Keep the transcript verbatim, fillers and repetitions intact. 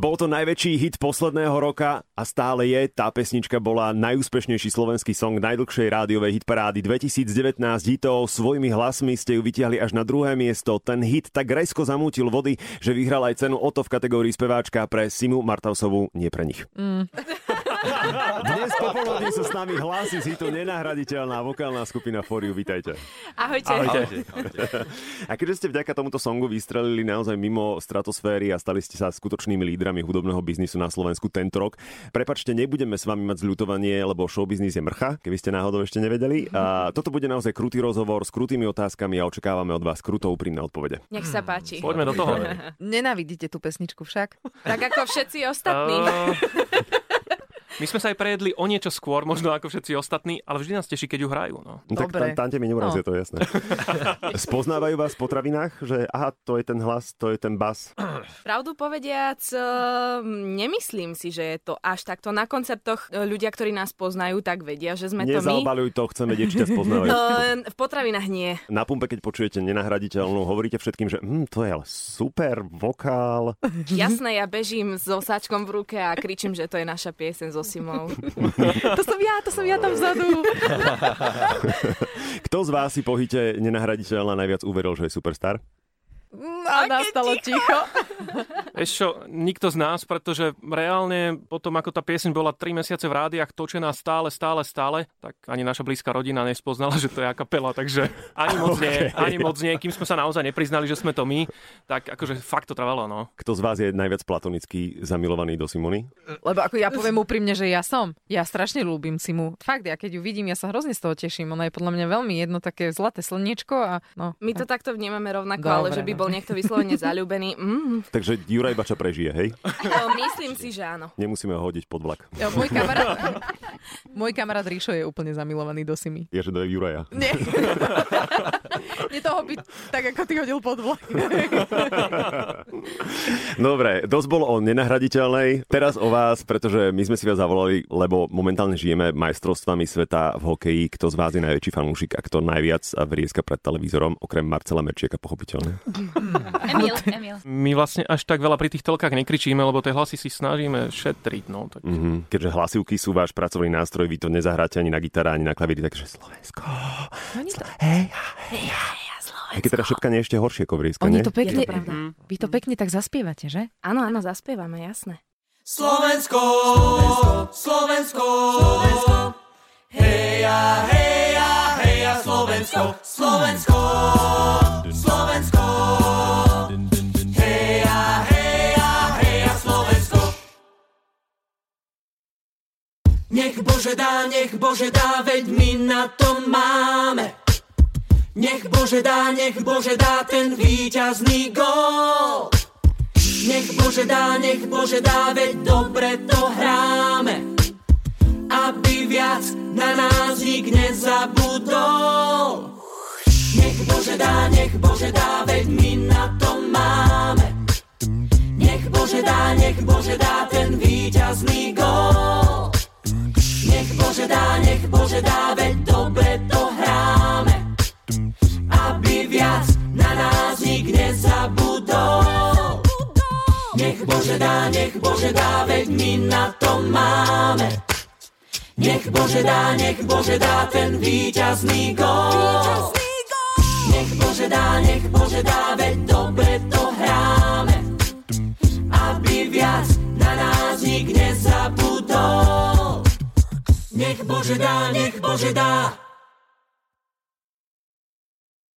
Bol to najväčší hit posledného roka a stále je. Tá pesnička bola najúspešnejší slovenský song najdlhšej rádiovej hitparády dvetisícdevätnásť hitov. Svojimi hlasmi ste ju vytiahli až na druhé miesto. Ten hit tak rezko zamútil vody, že vyhral aj cenu Otto v kategórii speváčka pre Simu Martausovú, nie pre nich. Mm. Dnes popoludní sú s nami hlasy z hitu nenahraditeľná vokálna skupina For You. Vítajte. Ahojte. Ahojte. Ahojte. A keďže ste vďaka tomuto songu vystrelili naozaj mimo stratosféry a stali ste sa skutočnými lídrami hudobného biznisu na Slovensku tento rok, prepáčte, nebudeme s vami mať zľutovanie, lebo showbiznis je mrcha, keby ste náhodou ešte nevedeli. A toto bude naozaj krutý rozhovor s krutými otázkami a očakávame od vás kruto úprimné odpovede. Nech sa páči. Poďme do toho. Nenávidíte tú pesničku však? Tak ako všetci ostatní. Uh... My sme sa aj prejedli o niečo skôr, možno ako všetci ostatní, ale vždy nás teší, keď ju hrajú. No. Tak tam, tam mi neurazia, no. To je jasné. Spoznávajú vás v potravinách, že aha, to je ten hlas, to je ten bas? Pravdu povediac, nemyslím si, že je to až takto. Na koncertoch ľudia, ktorí nás poznajú, tak vedia, že sme to my. Nezalbaluj to, chcem vedieť, či ťa spoznávajú. No, v potravinách nie. Na pumpe, keď počujete nenahraditeľnú, hovoríte všetkým, že hm, to je ale super vokál. Jasné, ja bežím s osáčkom v ruke a kričím, že to je naša pieseň zo Simou. To som ja, to som ja tam vzadu. Kto z vás si po hite nenahraditeľná najviac uveril, že je superstar? A nastalo ticho. Vieš čo, nikto z nás, pretože reálne potom, ako tá pieseň bola tri mesiace v rádiách točená stále, stále, stále, tak ani naša blízka rodina nespoznala, že to je a cappella, takže ani moc nie, ani moc nie. Kým sme sa naozaj nepriznali, že sme to my, tak akože fakt to trvalo, no. Kto z vás je najviac platonicky zamilovaný do Simony? Lebo ako ja poviem úprimne, že ja som. Ja strašne ľúbim Simu. Fakt, ja keď ju vidím, ja sa hrozne z toho teším. Ona je podľa mňa veľmi jedno také zlaté slniečko a no. My to takto vnímame rovnako, Dobre, ale že by bol niekto vyslovene zaľúbený. Mm. Takže Juraj Bača prežije, hej? No, myslím si, že áno. Nemusíme ho hodiť pod vlak. Ja, môj kamarát, môj kamarát Ríšo je úplne zamilovaný do Simy. Je, že do Juraja. Nie. Nie toho byť tak, ako ty hodil pod vlak. Dobre, dosť bolo o nenahraditeľnej. Teraz o vás, pretože my sme si vás zavolali, lebo momentálne žijeme majstrovstvami sveta v hokeji. Kto z vás je najväčší fanúšik a kto najviac vrieska pred televízorom, okrem Marcela Merčieka, pochopiteľne? Emil, Emil. My vlastne až tak veľa pri tých telkách nekričíme, lebo tie hlasy si snažíme šetriť. No, tak... mm-hmm. Keďže hlasivky sú váš pracovný nástroj, vy to nezahráte ani na gitare, ani na klavíri, takže Slovensko. Slo- hej, hej, hej, Slovensko. Keď teda šepkanie ešte horšie ako vrieska, Oni nie? to pekne, to vy to pekne tak zaspievate, že? Áno, áno, zaspievame, jasné. Slovensko, Slovensko, Slovensko, heja, heja, heja, Slovensko, Slovensko, Slovensko, heja, heja, heja, Slovensko. Nech Bože dá, nech Bože dá, veď my na to máme. Nech Bože dá, nech Bože dá ten víťazný gól. Nech Bože dá, nech Bože dá, veď dobre to hráme. Aby viac na nás nik nezabudol. Nech Bože dá, nech Bože dá, veď my na to máme. Nech Bože dá, nech Bože dá ten víťazný gól. Nech Bože dá, nech Bože dá, veď dobre to hráme. Aby viac na nás nik nezabudol. Nech Bože dá, nech Bože dá, veď my na to máme. Nech Bože dá, nech Bože dá ten víťazný gól. Nech Bože dá, nech Bože dá, veď dobre to hráme. Aby viac na nás nik nezabudol. Nech Bože dá, nech Bože dá.